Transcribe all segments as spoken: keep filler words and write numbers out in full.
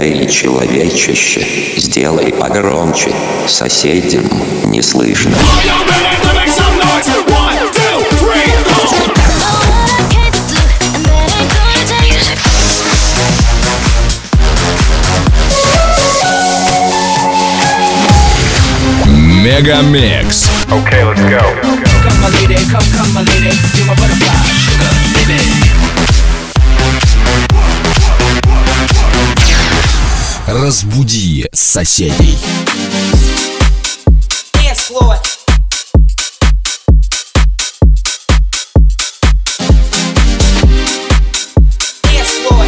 Эй, человечище, сделай погромче, соседям не слышно. Мегамикс. Okay, let's go. Come my lady, come, come my lady, you're my butterfly, sugar, baby. Разбуди соседей. Dance floor. Dance floor.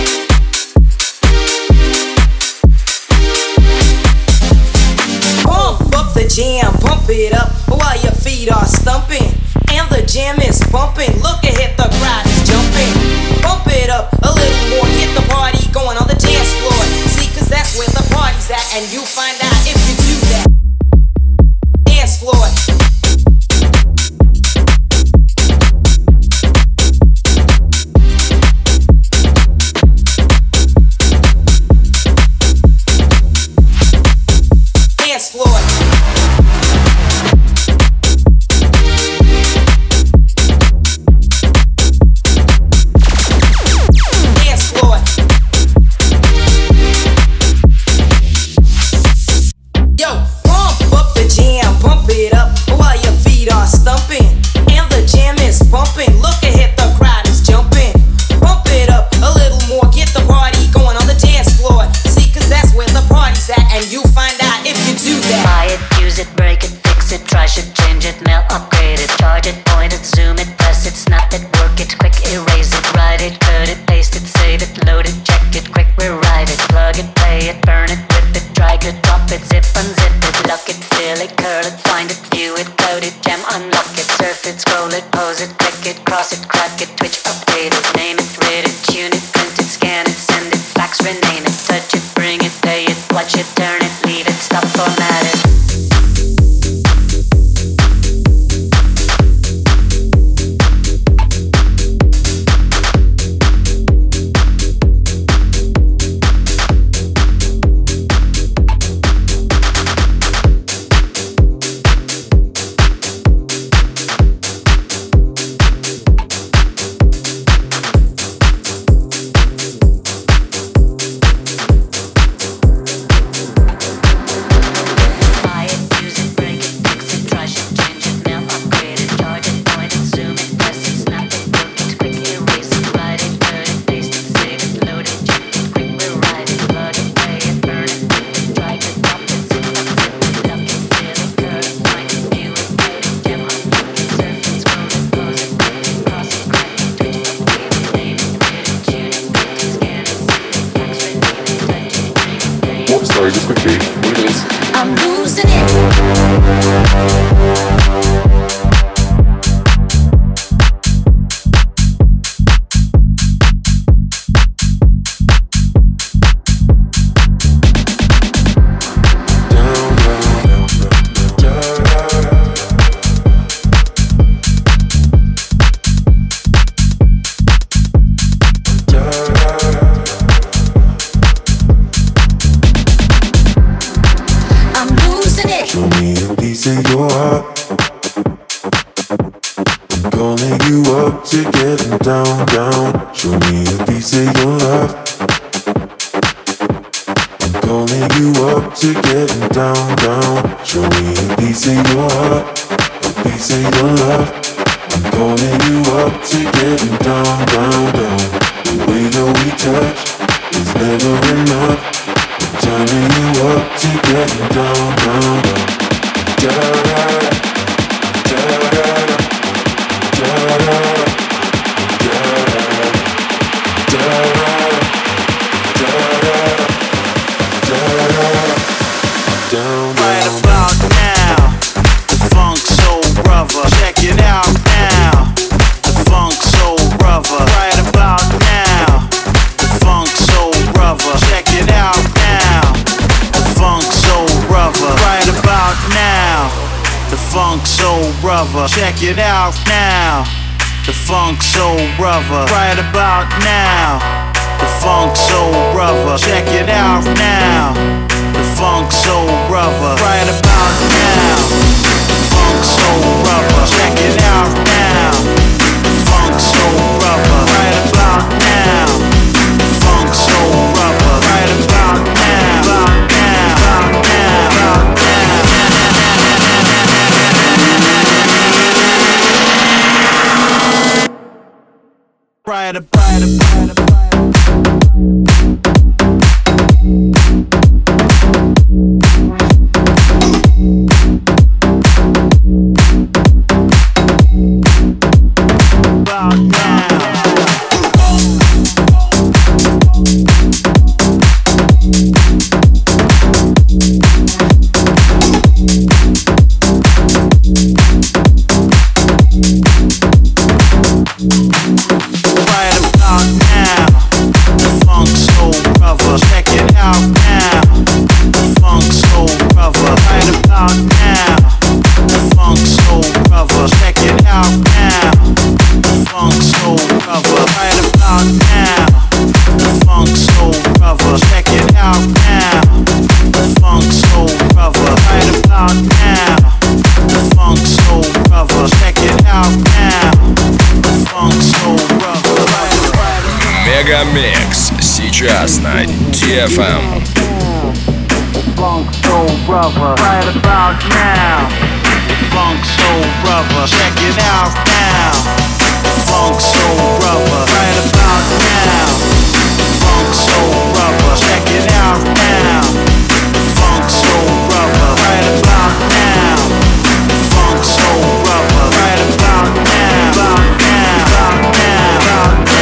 Pump up the jam, pump it up while your feet are stumping. And the jam is bumping. Look ahead, the crowd is jumping. Pump it up a little more, get the party going on the dance floor. See, cause that's where the party's at, and you find out if you do that. Dance floor. Dance floor. Dance floor. Yo, pump up the jam, pump it up while your feet are stumping. And the jam is bumping. Look ahead, the crowd is jumping. Pump it up a little more, get the party going on the dance floor. See, cause that's where the party's at, and you find out if you do that. Buy it, use it, break it, fix it, trash it, change it, mail, upgrade it, charge it, point it, zoom it, press it, snap it, work it, quick erase it, write it, cut it, paste it, save it, load it, check it, quick rewrite it, plug it, play it, burn it, rip it, drag it, drop it, zip, unzip it, lock it, fill it, curl it, find it, view it, code it, jam, unlock it, surf it, scroll it, pose it, click it, cross it, crack it, twitch, update it, name it, read it, tune it, print it, scan it, send it, fax, rename it, touch it, bring it, pay it, watch it, turn it, leave it, stop, format it. Buy it, use it, break it, fix it, trash it, change it, mail, upgrade it, charge it, point it, zoom it, press it, snap it, work it, quick erase it, write it, cut it, paste it, save it, load it, check it, quick rewrite it, plug it, play it, burn it, rip it, drag it, drop it, zip, unzip it, lock it, fill it, cut it, find it, view it, code it, jam, unlock it, surf it, scroll it, pose it, click it, cross it, crack it, twitch, update it, name it, read it, tune it, print it, scan it, send it, fax, rename it, touch it, bring it, pay it. What? Sorry, just quickly. What it is? I'm losing it. I'm losing it. Show me a piece of your heart. I'm calling you up to getting down, down. Show me a piece of your love. I'm calling you up to getting down, down. Show me a piece of your heart, a piece of your love. I'm calling you up to getting down, down, down. The way that we touch is never enough. I'm turning you up to getting down, down, down. Da da da da da da down, Right down. about now, the funk soul brother. Check it out now, the funk soul brother. Right about now, the funk soul brother. Check it out now, the funk soul brother. Right about now, the funk soul brother. Check it out now, the funk soul brother. Right about now, the funk soul brother. Check it out now. about now. The funk soul brother. Right about now. The funk soul brother. Check it out now. The funk soul brother. Мегамикс сейчас на ди эф эм. Funk soul brother. Right about now. Funk soul brother. Check it out now. Funk soul brother. Right about now. Funk soul brother. Check it out now. Funk soul brother. Right about now. Funk soul brother. Right about now. About now. About now. About now.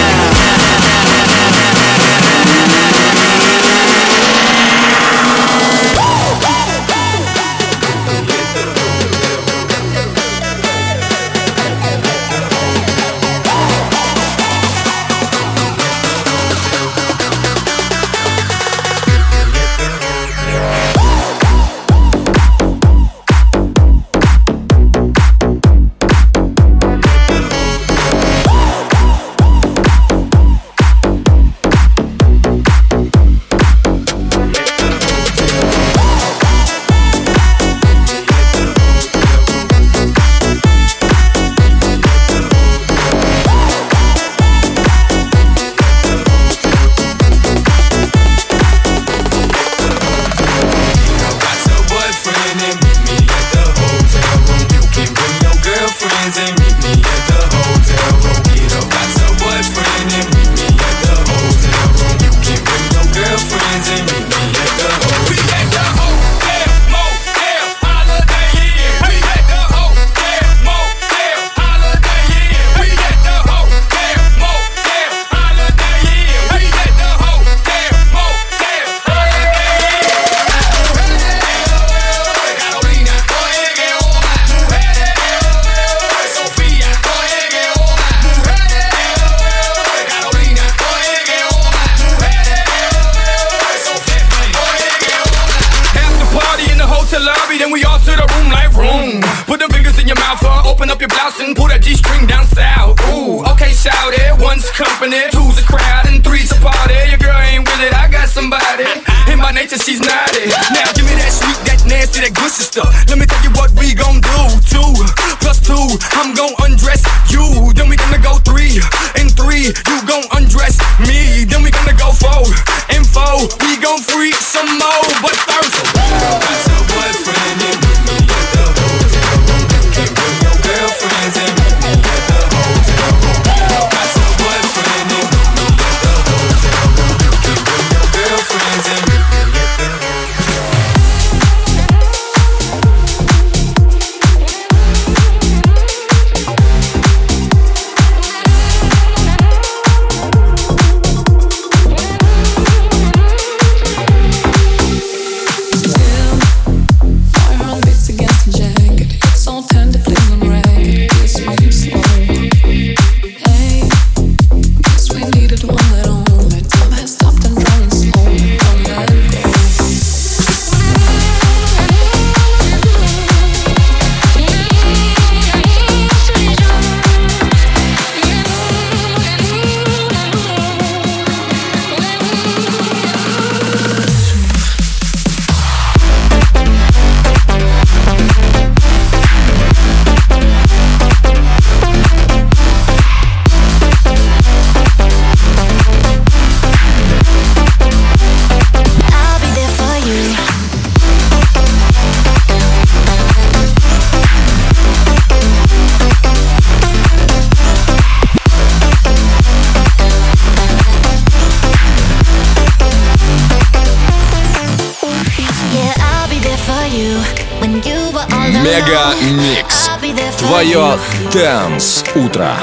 Мегамикс. Твое Dance утро.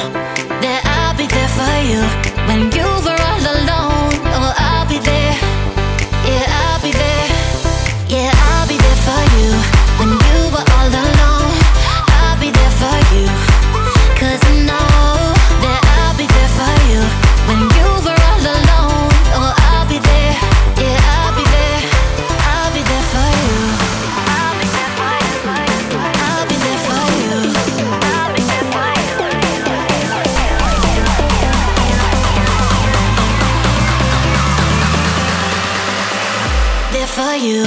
for you.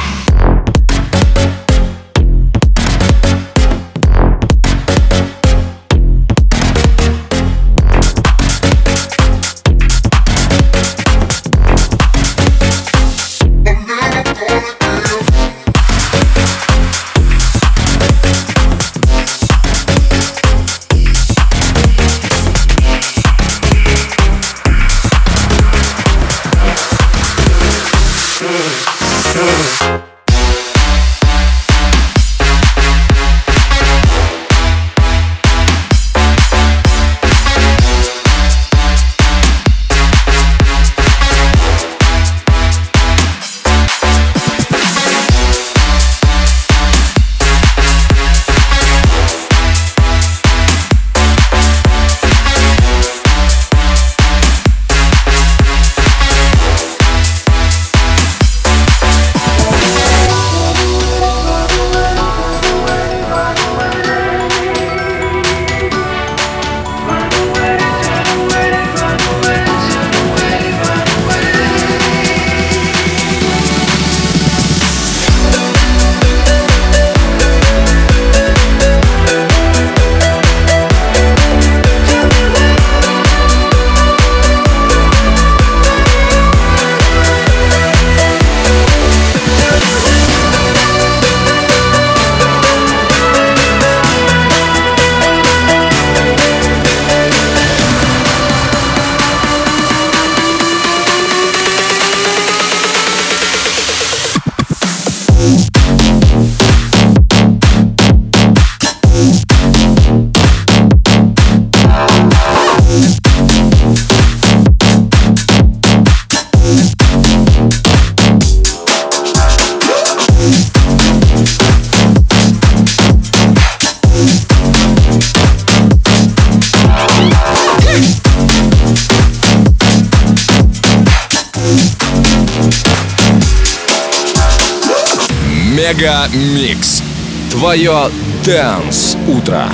Мега Микс. Твое Dance утро.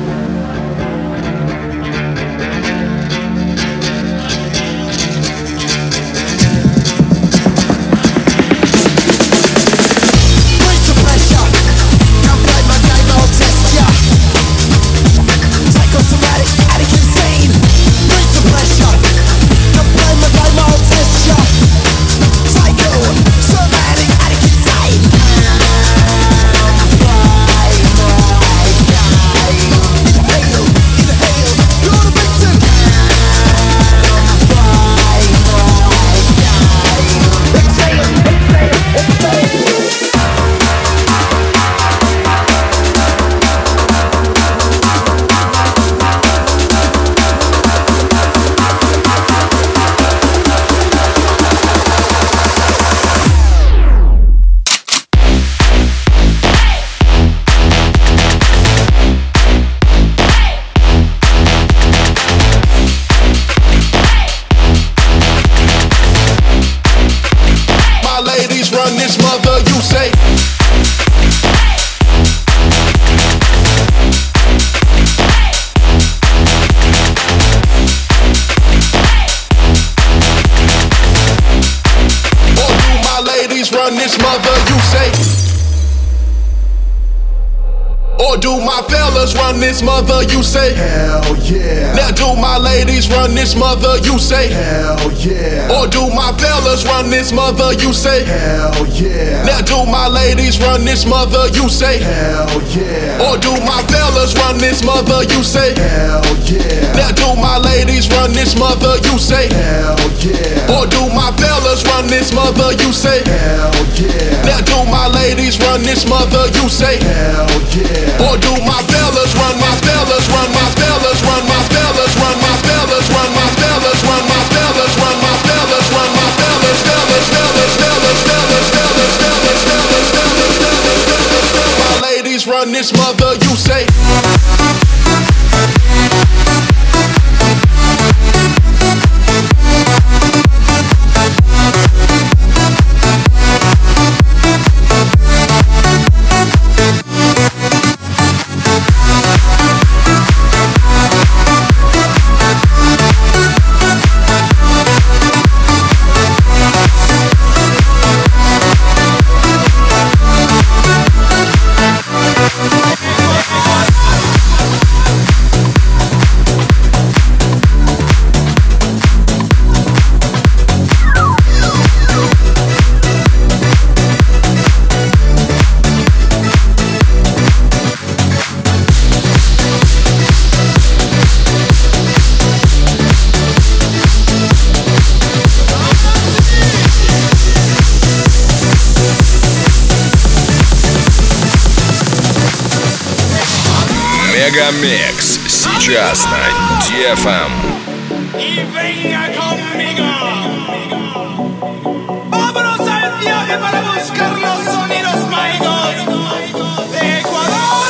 This mother, you say hell yeah. Now do my ladies run this mother, you say hell yeah. Or do my fellas run this mother, you say hell yeah. Now do my ladies run this mother, you say hell yeah. Or do my fellas run this mother, you say hell yeah. Now do my ladies run this mother, you say hell yeah. Or do my fellas run this mother, you say hell yeah. Now do my ladies run this mother, you say hell yeah. Or do my fellas run my fellas run my fellas run my fellas run my fellas run my fellas run my fellas run my fellas run my fellas fellas fellas fellas fellas fellas fellas fellas fellas fellas. My ladies run this mother, you say. Мегамикс сейчас на ди эф эм. Y venga conmigo. Vámonos al viaje para buscar los sonidos mágicos de Ecuador.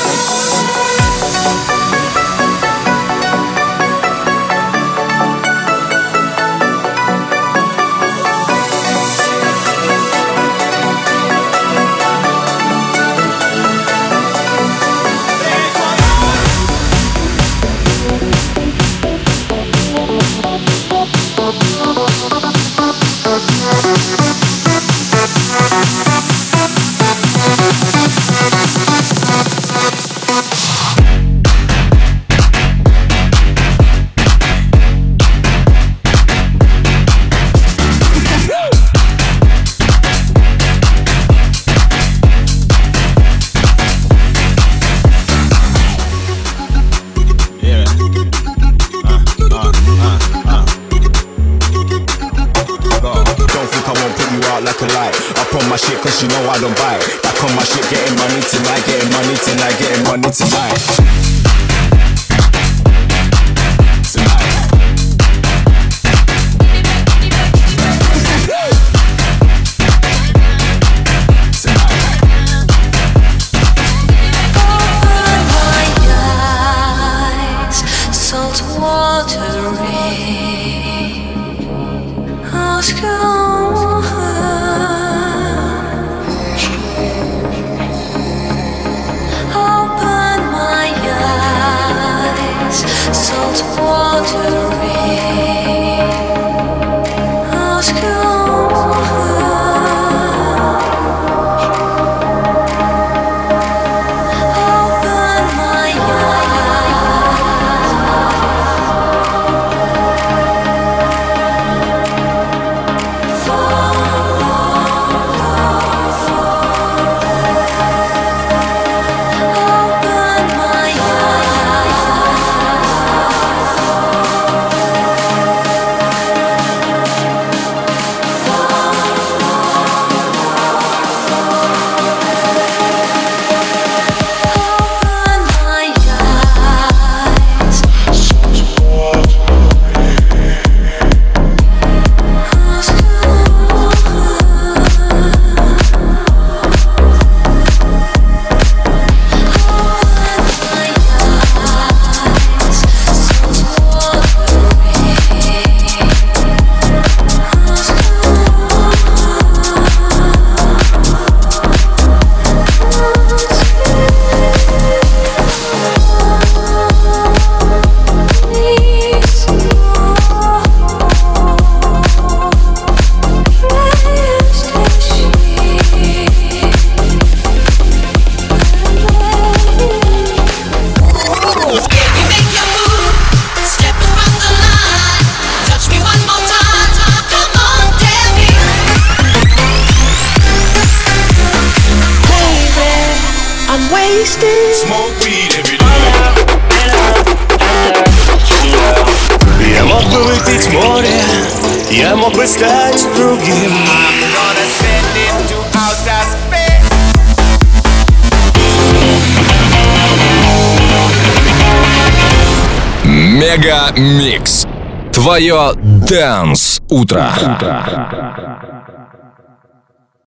Cause you know I don't buy it. Back on my shit, getting money tonight, getting money tonight, getting money tonight. Я мог бы выпить море, я мог бы стать другим. Мегамикс. Твое Dance утро.